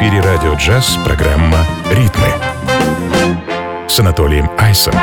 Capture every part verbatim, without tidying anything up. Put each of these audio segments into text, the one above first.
эфире радио «Джаз» программа «Ритмы» с Анатолием Айсом.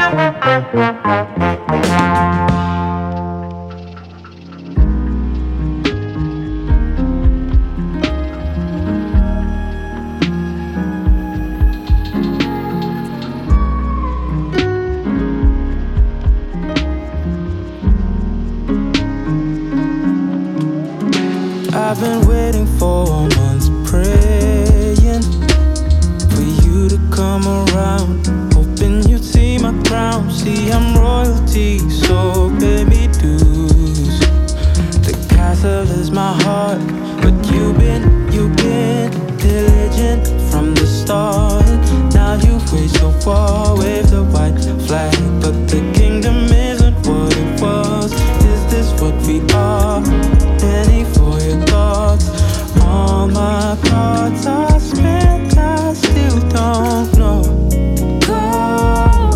I've been waiting for months, praying for you to come around, hoping you'd see my crown. See, I'm royalty, so pay me dues. The castle is my heart, but you've been, you've been diligent from the start. Now you wage your war, wave the white flag, but the kingdom isn't what it was. Is this what we are? Penny for your thoughts. All my cards are spent, I still don't know. Go,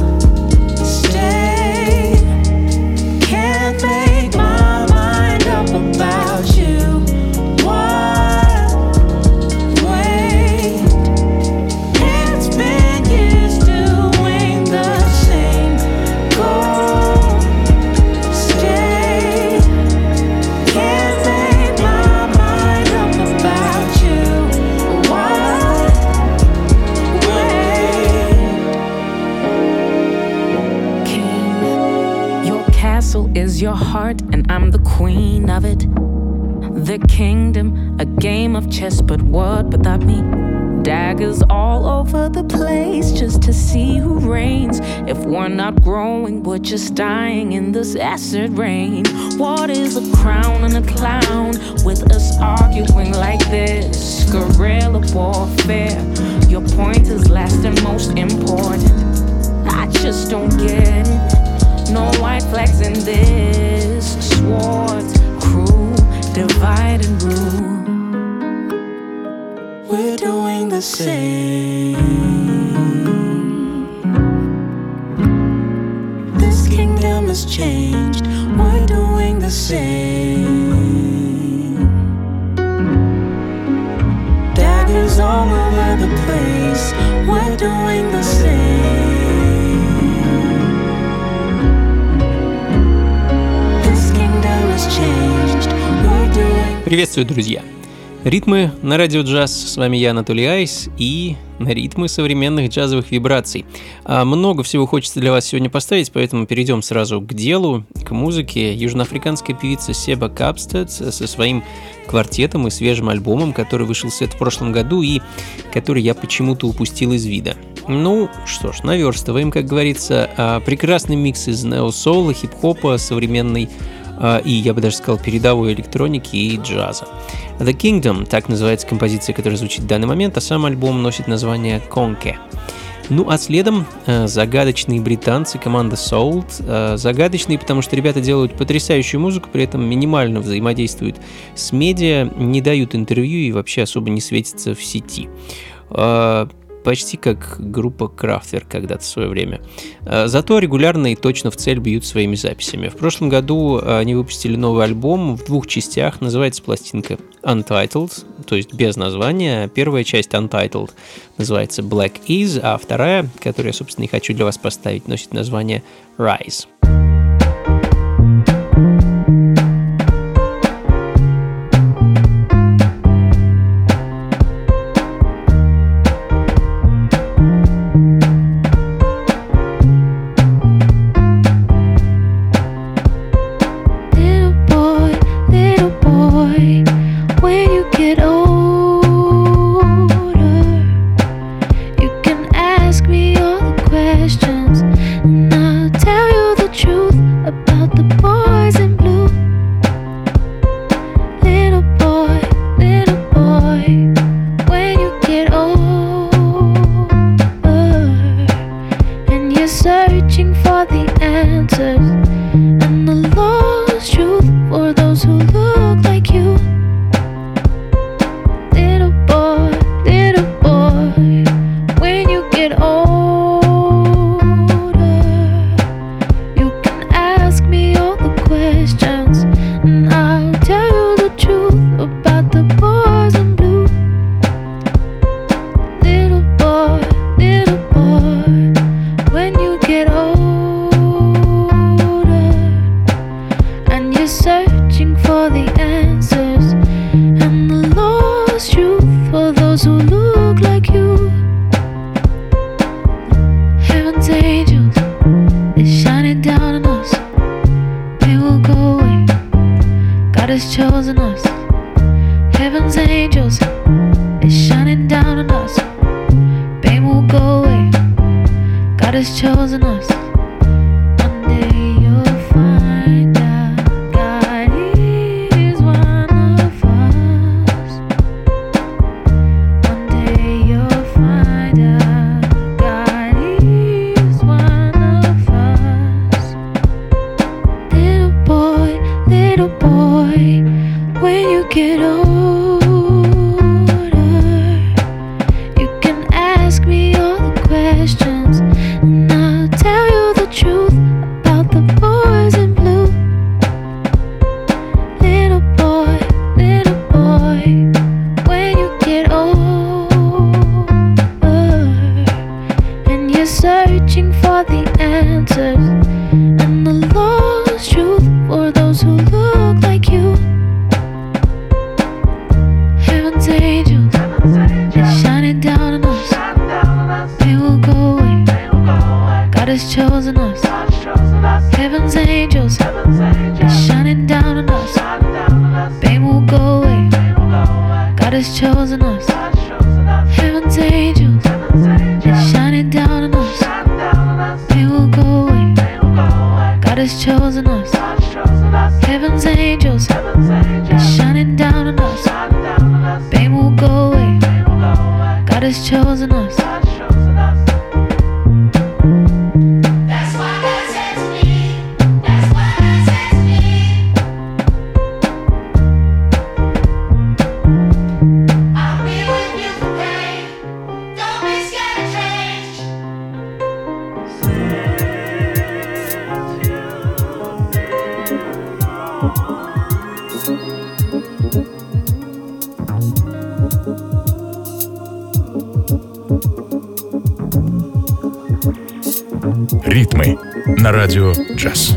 stay, can't make my mind up about you. What? Wait, it's been years doing the same. Go, stay, can't make my mind up about you. What? Wait. King, your castle is your heart, and I'm the queen of it. The kingdom, a game of chess, but what without me? Daggers all over the place just to see who reigns. If we're not growing, we're just dying in this acid rain. What is a crown and a clown with us arguing like this? Guerrilla warfare. Your point is last and most important. I just don't get it. No white flags in this. Swords, crew, divide and rule. We're doing the same. This kingdom has changed. We're doing the same. Daggers all over the place. We're doing the same. This kingdom has changed. We're doing. Приветствую, друзья! Ритмы на радио «Джаз». С вами я, Анатолий Айс, и на ритмы современных джазовых вибраций. А много всего хочется для вас сегодня поставить, поэтому перейдем сразу к делу, к музыке. Южноафриканская певица Себа Капстед со своим квартетом и свежим альбомом, который вышел в свет в прошлом году и который я почему-то упустил из вида. Ну что ж, наверстываем, как говорится. Прекрасный микс из нео-соула, хип-хопа, современной и, я бы даже сказал, передовой электроники и джаза. The Kingdom, так называется композиция, которая звучит в данный момент, а сам альбом носит название Конке. Ну а следом э, загадочные британцы, команда Soul. Э, загадочные, потому что ребята делают потрясающую музыку, при этом минимально взаимодействуют с медиа, не дают интервью и вообще особо не светятся в сети. Э, Почти как группа Kraftwerk когда-то в свое время. Зато регулярно и точно в цель бьют своими записями. В прошлом году они выпустили новый альбом в двух частях. Называется пластинка Untitled, то есть без названия. Первая часть Untitled называется Black Is, а вторая, которую я, собственно, и хочу для вас поставить, носит название Rise. has chosen us. Heaven's angels is shining down on us. Pain will go away. God has chosen us. One day you'll find out God is one of us. One day you'll find out God is one of us. Little boy, little boy, when you get older, you can ask me all the questions, and I'll tell you the truth about the boys in blue. Little boy, little boy, when you get older, and you're searching for the answers and the lost truth for those who look like you. Heaven's angels is shining down on us. They will go away. God has chosen us. Heaven's angels is shining down on us. Pain will go away. God has chosen us. Heaven's angels is shining down on us. Pain will go away. God has chosen us. Heaven's angels is shining down on us. Pain will go away. God has chosen us. That's what God says to me. That's what God says to me. I'll be with you for pain. Don't be scared of change. Ритмы на радио «Джаз».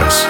джаз.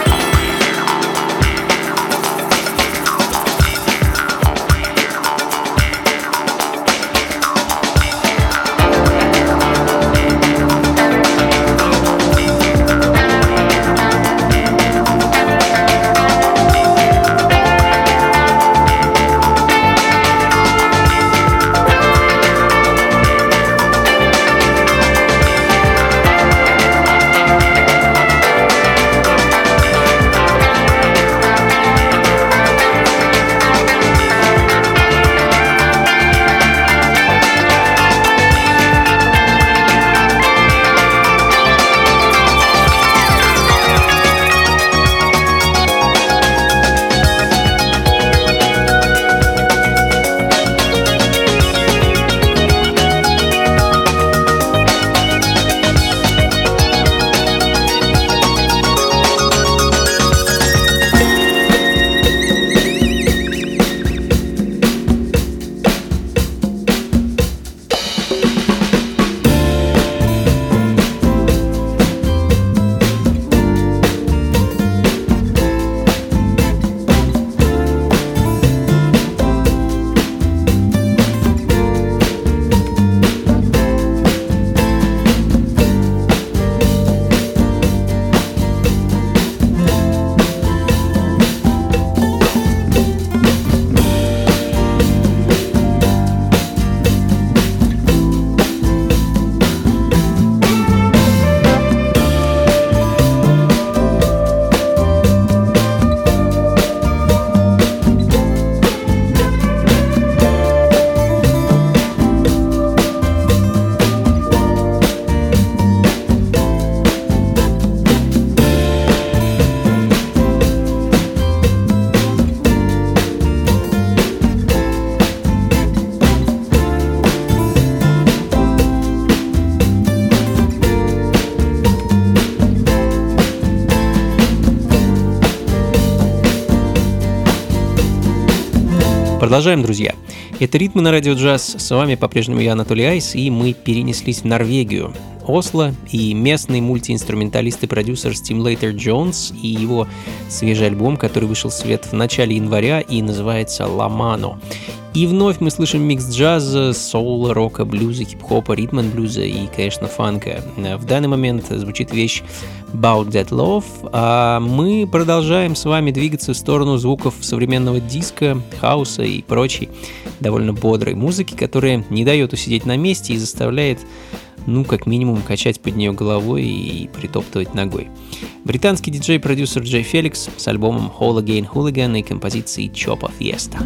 Продолжаем, друзья. Это «Ритмы на радио джаз». С вами по-прежнему я, Анатолий Айс, и мы перенеслись в Норвегию. Осло и местный мультиинструменталист и продюсер Stimulator Jones и его свежий альбом, который вышел в свет в начале января и называется «La Mano». И вновь мы слышим микс джаза, соула, рока, блюза, хип-хопа, ритм-н-блюза и, конечно, фанка. В данный момент звучит вещь About That Love, а мы продолжаем с вами двигаться в сторону звуков современного диска, хауса и прочей довольно бодрой музыки, которая не дает усидеть на месте и заставляет, ну, как минимум, качать под нее головой и притоптывать ногой. Британский диджей-продюсер Джей Феликс с альбомом Whole Again Hooligan и композицией Chopa Fiesta.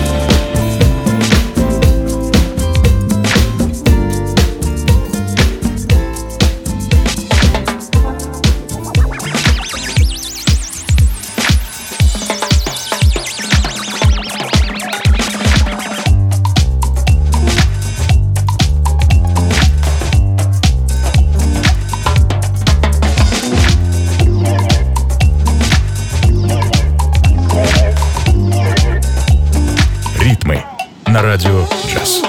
На радио джаз.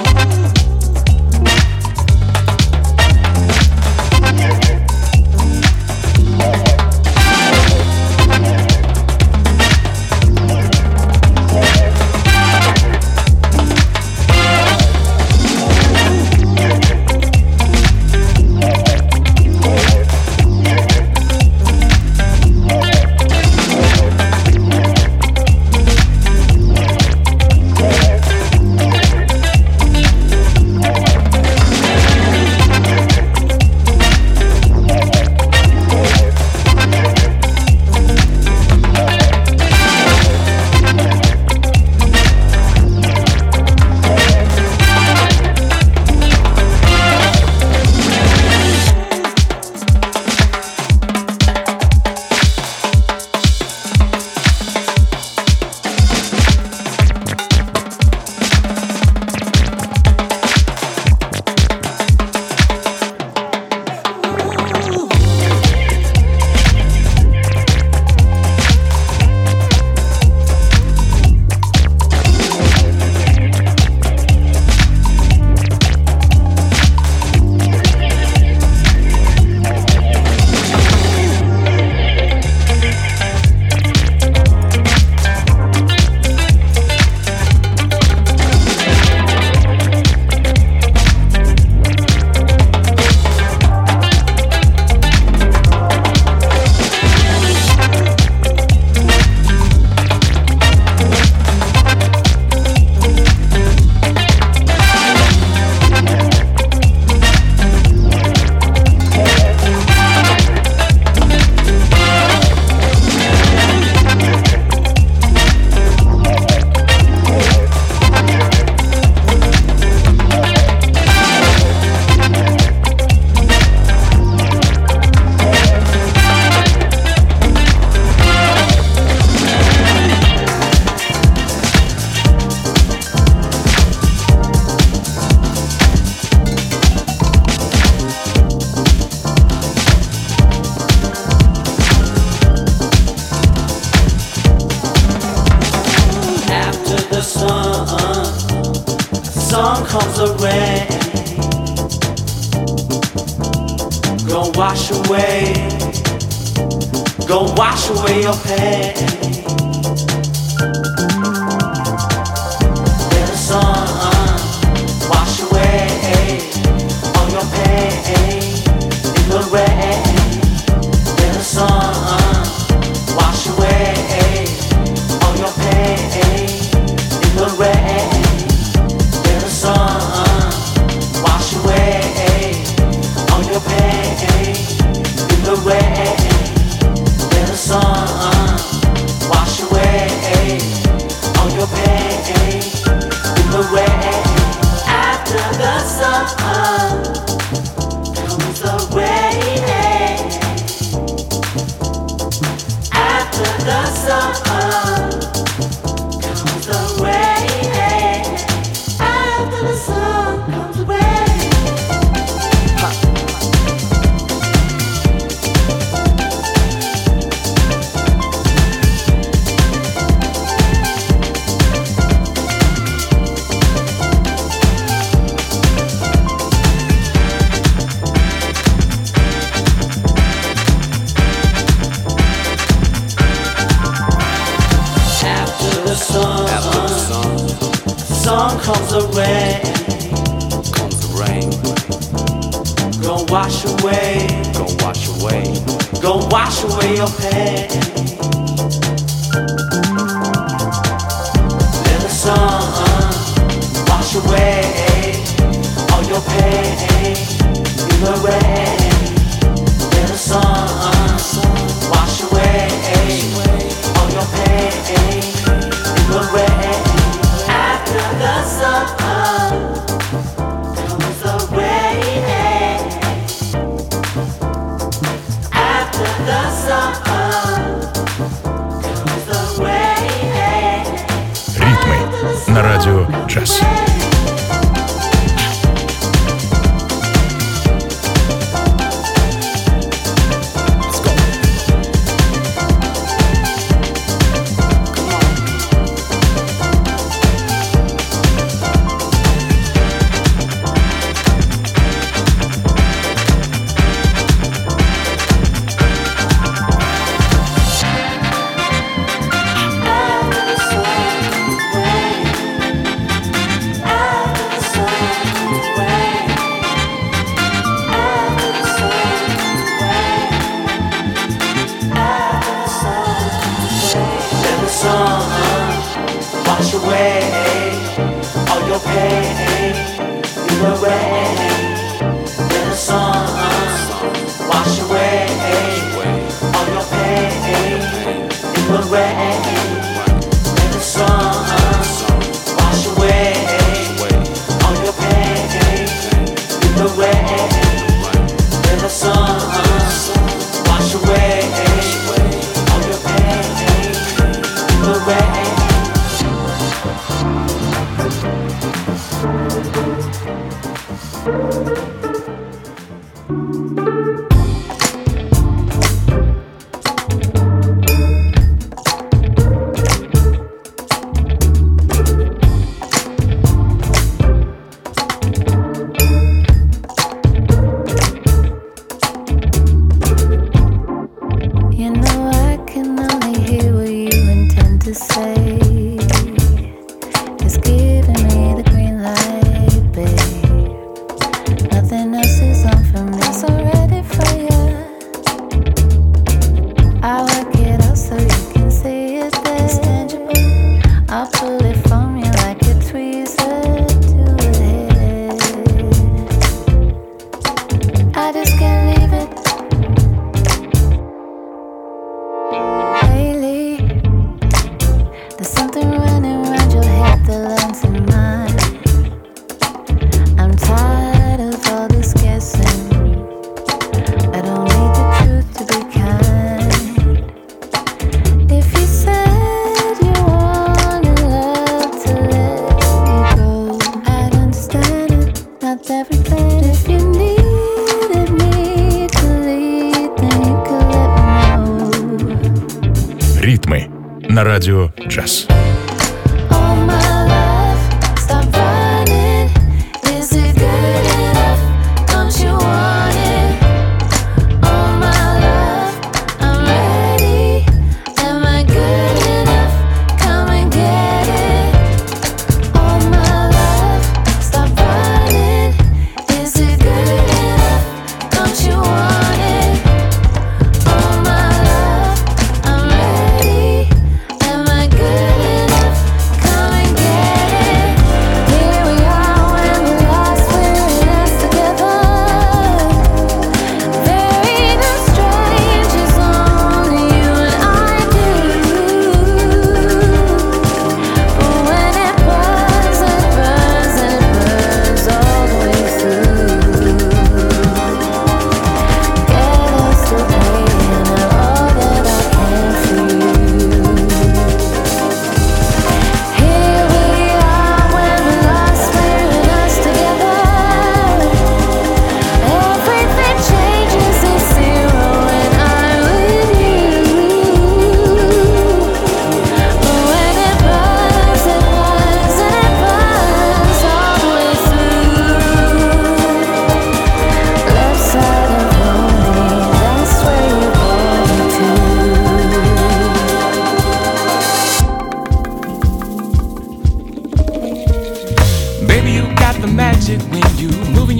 sun comes the rain, gonna wash away, gonna wash away your pain. Let the sun wash away all your pain in the rain. Let the sun wash away all your pain in the rain. Let the sun wash away all your pain in the rain. Let the sun wash away all your pain in the rain. After the sun comes the rain. After the sun comes the rain. After the sun comes the rain. Sun comes the rain, comes the rain, gonna wash away, gonna wash away, gonna wash away your pain. Let the sun wash away all your pain in the rain. Let the sun wash away all your pain in the rain. After the sun comes the rain. After the sun comes the rain. Ритмы на радио «Джаз». Ритмы на радио «Джаз». All my life, stop running.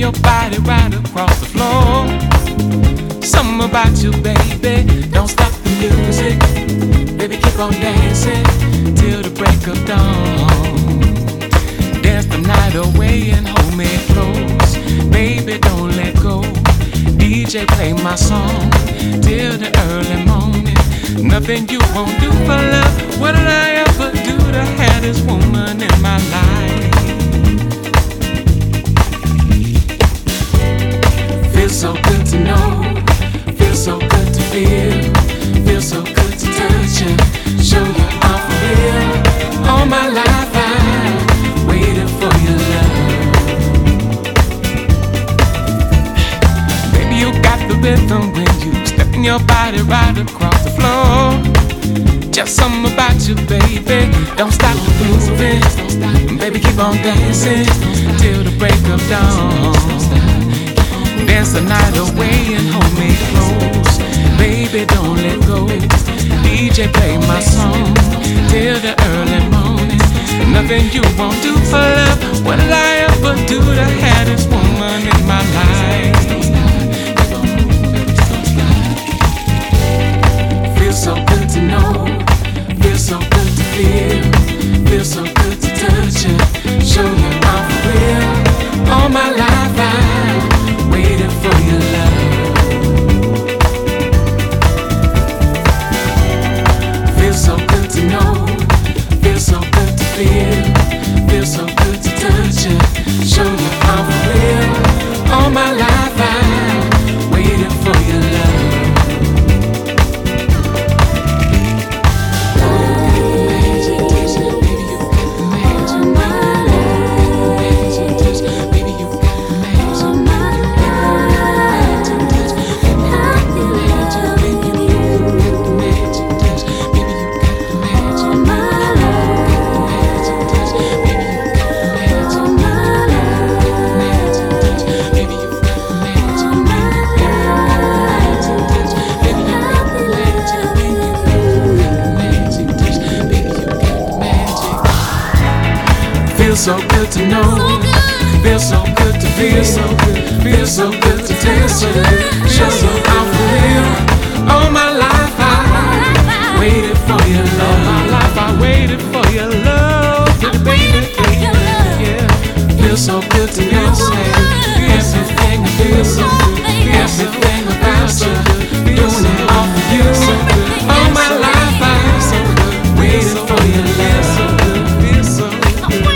your body right across the floor. Something about you, baby, don't stop the music. Baby, keep on dancing till the break of dawn. Dance the night away and hold me close. Baby, don't let go. D J, play my song till the early morning. Nothing you won't do for love. What did I ever do to have this woman in my life? Feels so good to know. Feels so good to feel. Feels so good to touch you. Show you I'm for real. All my life I waited for your love. Baby, you got the rhythm when you stepping your body right across the floor. Just something about you, baby. Don't stop moving. Baby, keep on dancing till the break of dawn. Dance the night away and hold me close. Baby, don't let go. D J, play my song till the early morning. Nothing you won't do for love. What did I ever do to have this woman in my life? Feels so good to know. Feels so good to feel. Feels so good to touch you. Show you I'm for real. All my life I waited for your love. Feels so good to know. Feels so good to feel. Feels so good to touch you. Show you I'm for real. All my life I waited for your love. Feels so good to know. Feels so good to feel. So good. Feels so good to taste. So good. Show you I'm for real. All my life I waited for your love. All my life I waited for your love. Baby, yeah. Feels so good to know. Everything I feel so good. Everything about you. Doing it all for you. All my life I waited for your love. Feels so good.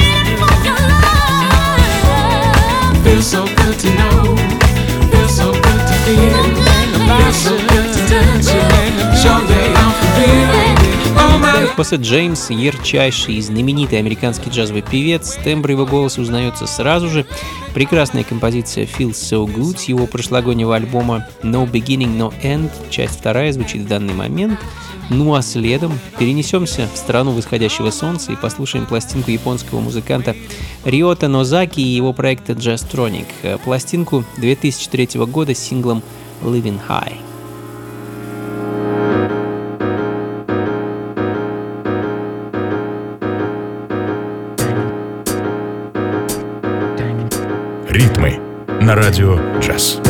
Feels so good to know. Feels so good to feel. Feels so good to touch you. Show me I'm for real. Oh my. Посет Джеймс — ярчайший и знаменитый американский джазовый певец. Тембр его голоса узнается сразу же. Прекрасная композиция «Feels So Good» с его прошлогоднего альбома «No Beginning, No End». Часть вторая звучит в данный момент. Ну а следом перенесемся в страну восходящего солнца и послушаем пластинку японского музыканта Риота Нозаки и его проекта Jazztronic. Пластинку две тысячи третьего года с синглом «Living High». Ритмы на радио «Джаз».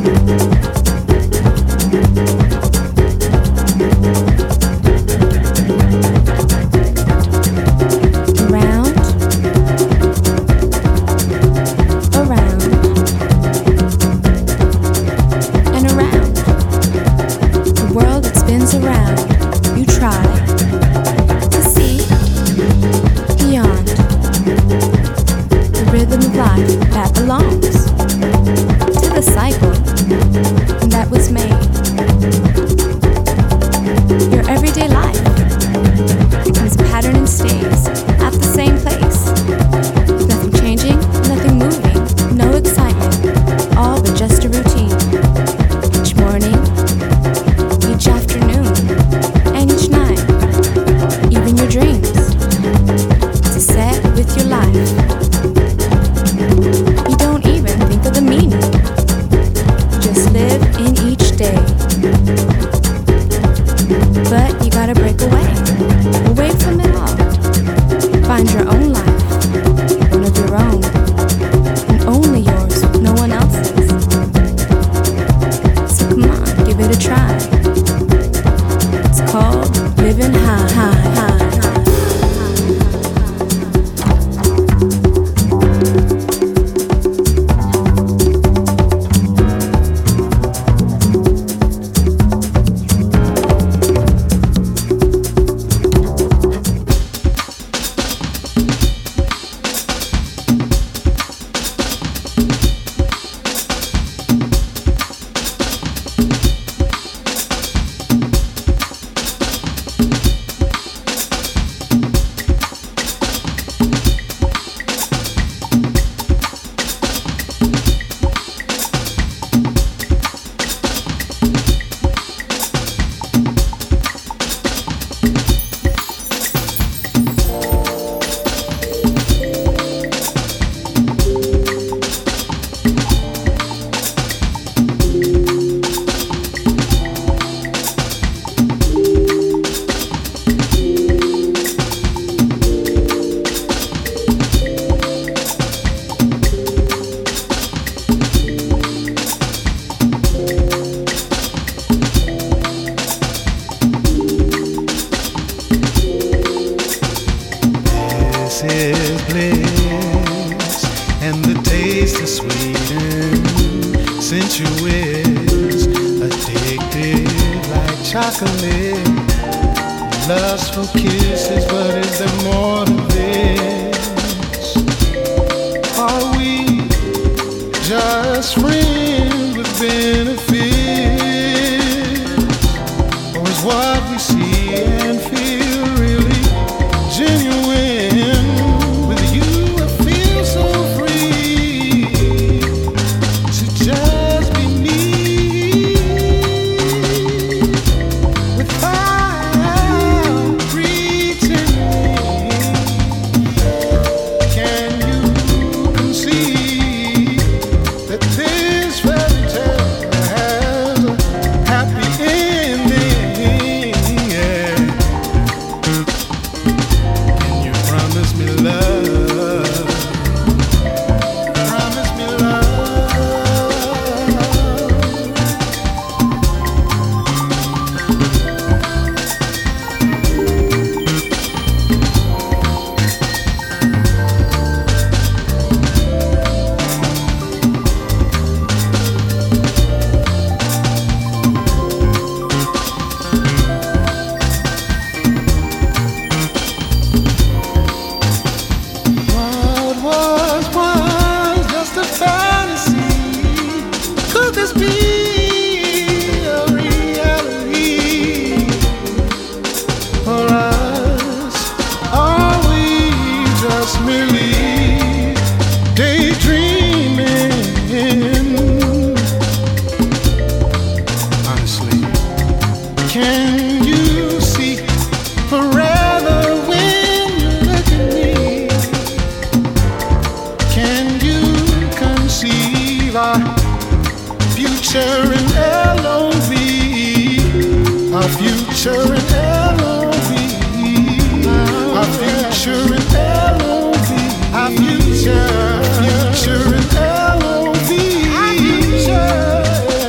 Future, future in L O V.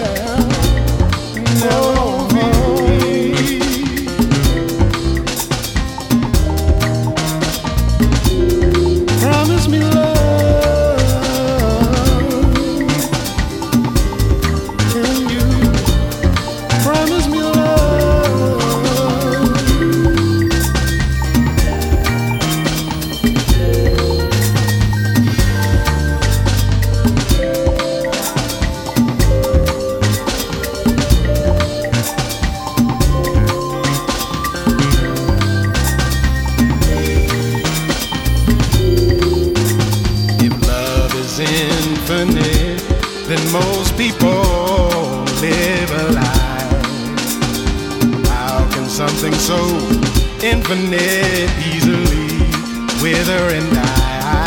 something so infinite, easily with her and I.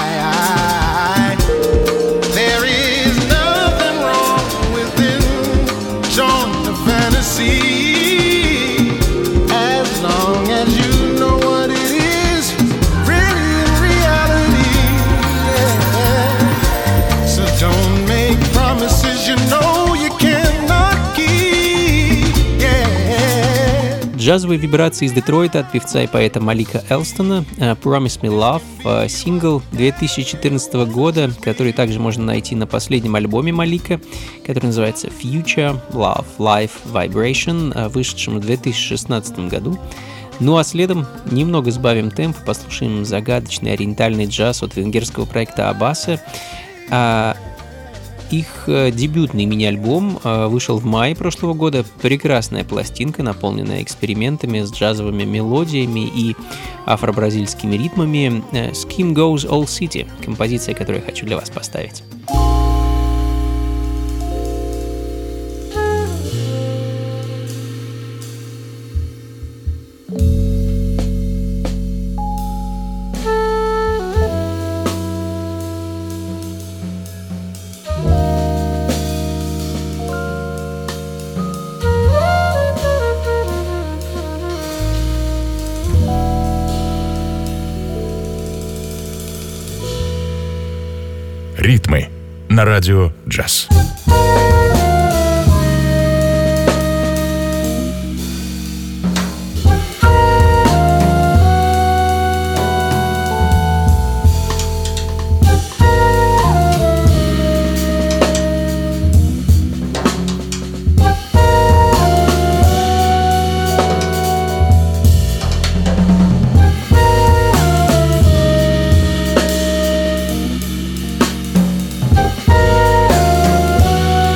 There is nothing wrong with enjoying the fantasy, as long as you know what it is really in reality. Yeah. So don't make promises you know you cannot keep. Yeah. Джазовые вибрации из Детройта от певца и поэта Малика Элстона, Promise Me Love, сингл две тысячи четырнадцатого года, который также можно найти на последнем альбоме Малика, который называется Future Love Life Vibration, вышедшем в две тысячи шестнадцатом году. Ну а следом немного сбавим темп, послушаем загадочный ориентальный джаз от венгерского проекта Аббаса. Их дебютный мини-альбом вышел в мае прошлого года. Прекрасная пластинка, наполненная экспериментами с джазовыми мелодиями и афро-бразильскими ритмами. Skim Goes All City, композиция, которую я хочу для вас поставить. Ритмы на радио «Джаз». Thank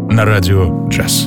на радио «Джаз».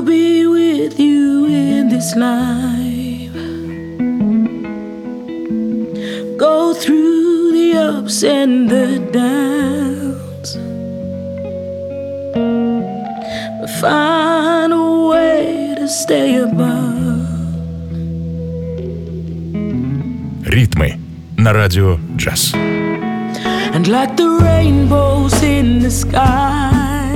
be with you in this life. Go through the ups and the downs, but find a way to stay above. Ритмы на радио джаз. And like the rainbows in the sky,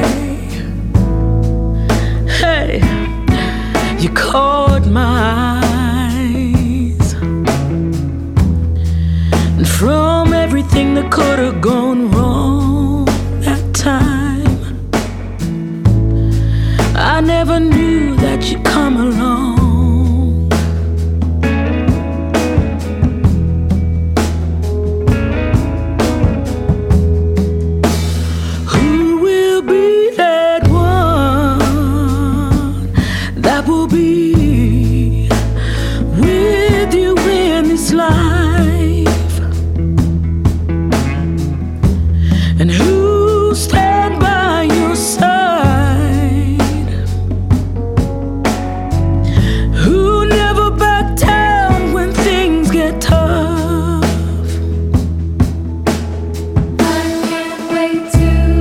hey, you caught my eyes. And from everything that could have gone wrong that time, I never knew that you'd come along.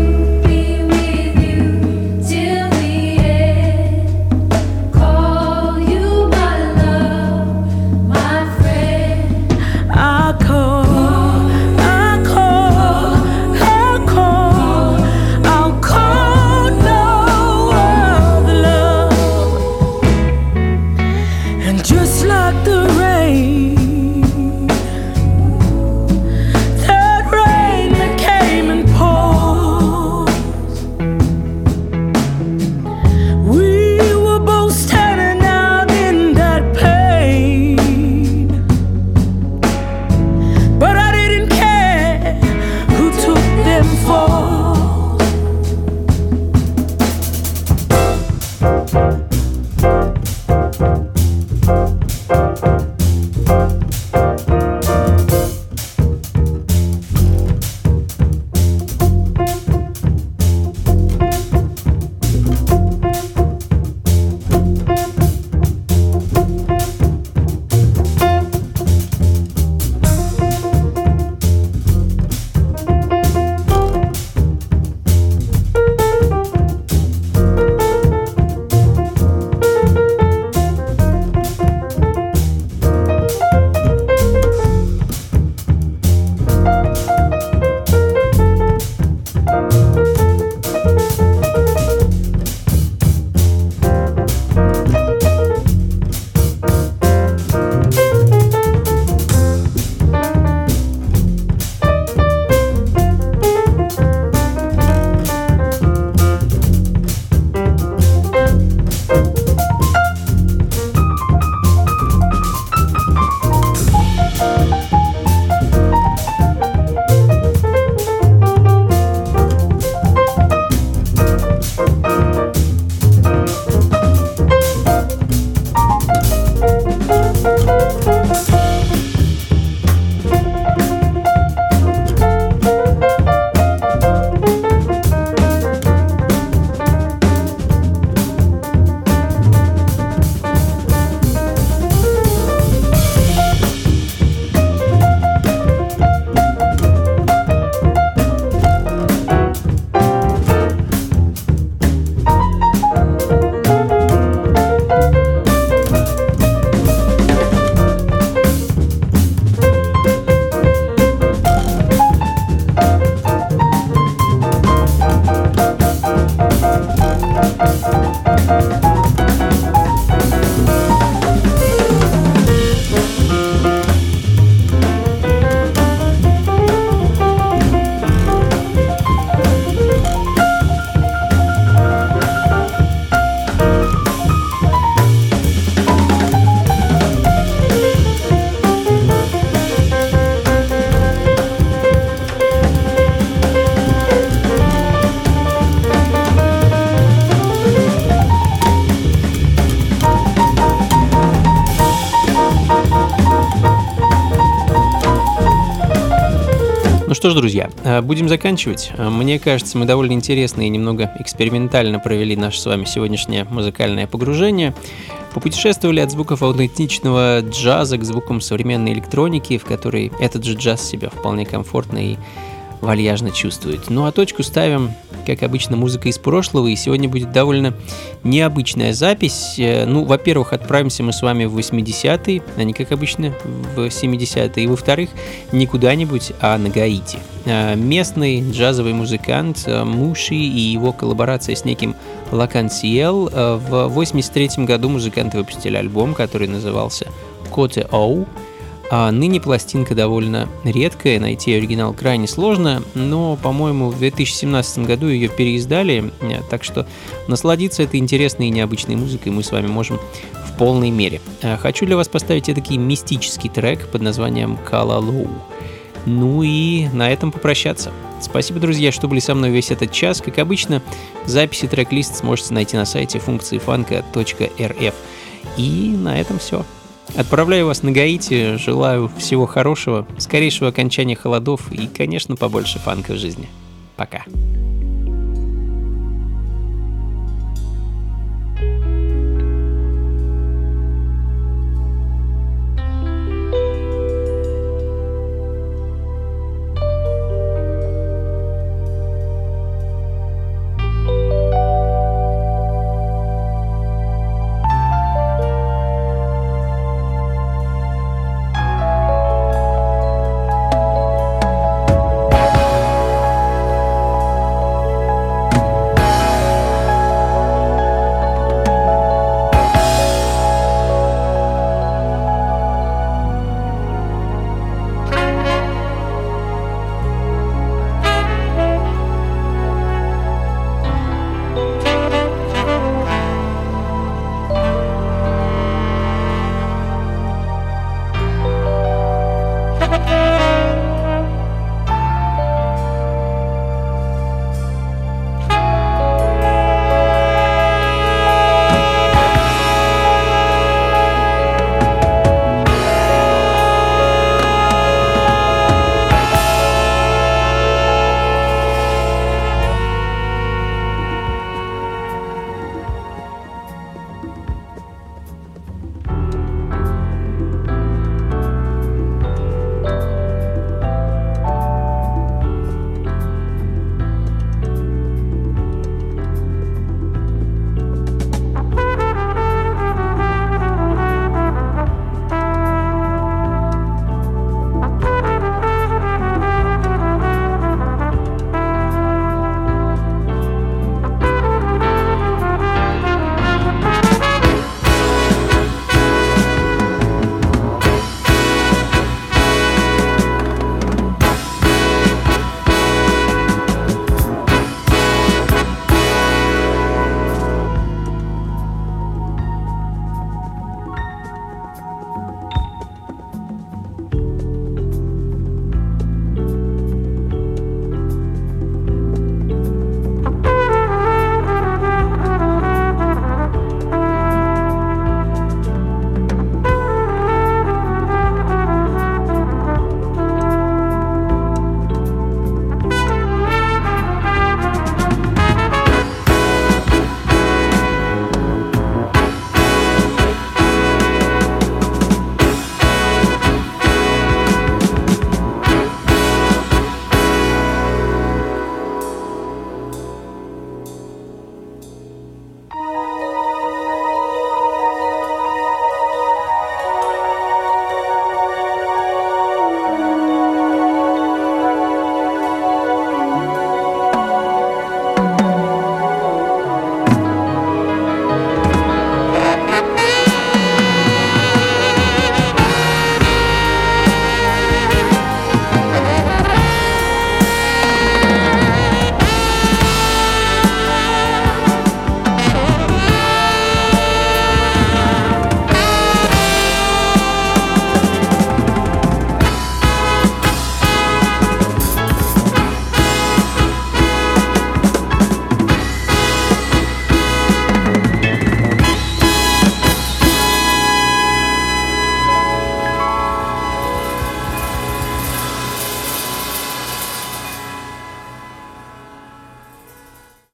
Call что ж, друзья, будем заканчивать. Мне кажется, мы довольно интересно и немного экспериментально провели наше с вами сегодняшнее музыкальное погружение. Попутешествовали от звуков аутентичного джаза к звукам современной электроники, в которой этот же джаз себя вполне комфортно и вальяжно чувствует. Ну а точку ставим, как обычно, музыка из прошлого, и сегодня будет довольно необычная запись. Ну, во-первых, отправимся мы с вами в восьмидесятые, а не, как обычно, в семидесятые, и, во-вторых, не куда-нибудь, а на Гаити. Местный джазовый музыкант Муши и его коллаборация с неким Лакансиел. В восемьдесят третьем году музыканты выпустили альбом, который назывался «Коте Оу». А ныне пластинка довольно редкая, найти оригинал крайне сложно, но, по-моему, в две тысячи семнадцатом году ее переиздали, так что насладиться этой интересной и необычной музыкой мы с вами можем в полной мере. Хочу для вас поставить этакий мистический трек под названием «Калалоу». Ну и на этом попрощаться. Спасибо, друзья, что были со мной весь этот час. Как обычно, записи трек-лист сможете найти на сайте функции фанка точка эр эф. И на этом все. Отправляю вас на Гаити, желаю всего хорошего, скорейшего окончания холодов и, конечно, побольше фанка в жизни. Пока.